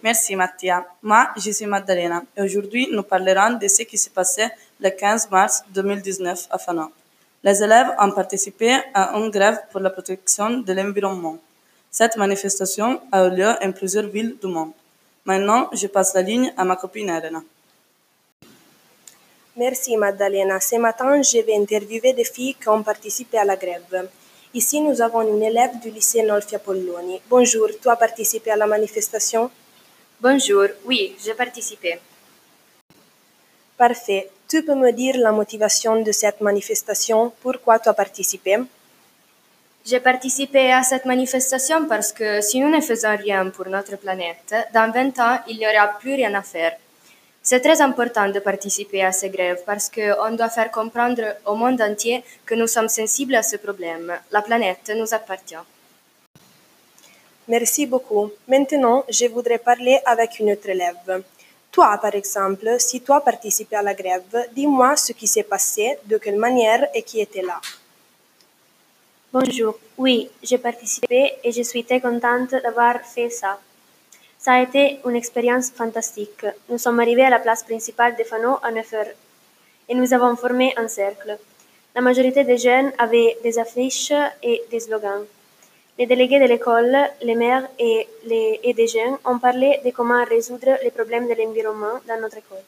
Merci Mattia. Moi, je suis Maddalena et aujourd'hui nous parlerons de ce qui s'est passé le 15 mars 2019 à Fana. Les élèves ont participé à une grève pour la protection de l'environnement. Cette manifestation a eu lieu en plusieurs villes du monde. Maintenant, je passe la ligne à ma copine Elena. Merci Maddalena. Ce matin, je vais interviewer des filles qui ont participé à la grève. Ici, nous avons une élève du lycée Nolfi Apolloni. Bonjour, tu as participé à la manifestation? Bonjour, oui, j'ai participé. Parfait. Tu peux me dire la motivation de cette manifestation? Pourquoi tu as participé? J'ai participé à cette manifestation parce que si nous ne faisons rien pour notre planète, dans 20 ans, il n'y aura plus rien à faire. C'est très important de participer à ces grèves parce qu'on doit faire comprendre au monde entier que nous sommes sensibles à ce problème. La planète nous appartient. Merci beaucoup. Maintenant, je voudrais parler avec une autre élève. Toi, par exemple, si tu as participé à la grève, dis-moi ce qui s'est passé, de quelle manière et qui était là. Bonjour, oui, j'ai participé et je suis très contente d'avoir fait ça. Ça a été une expérience fantastique. Nous sommes arrivés à la place principale de Fano à 9 heures et nous avons formé un cercle. La majorité des jeunes avaient des affiches et des slogans. Les délégués de l'école, les maires et des jeunes ont parlé de comment résoudre les problèmes de l'environnement dans notre école.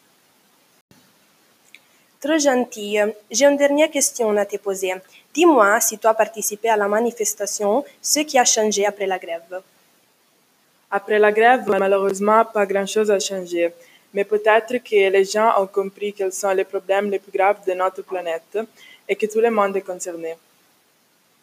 Trop gentille. J'ai une dernière question à te poser. Dis-moi si tu as participé à la manifestation, ce qui a changé après la grève. Après la grève, malheureusement, pas grand-chose a changé. Mais peut-être que les gens ont compris quels sont les problèmes les plus graves de notre planète et que tout le monde est concerné.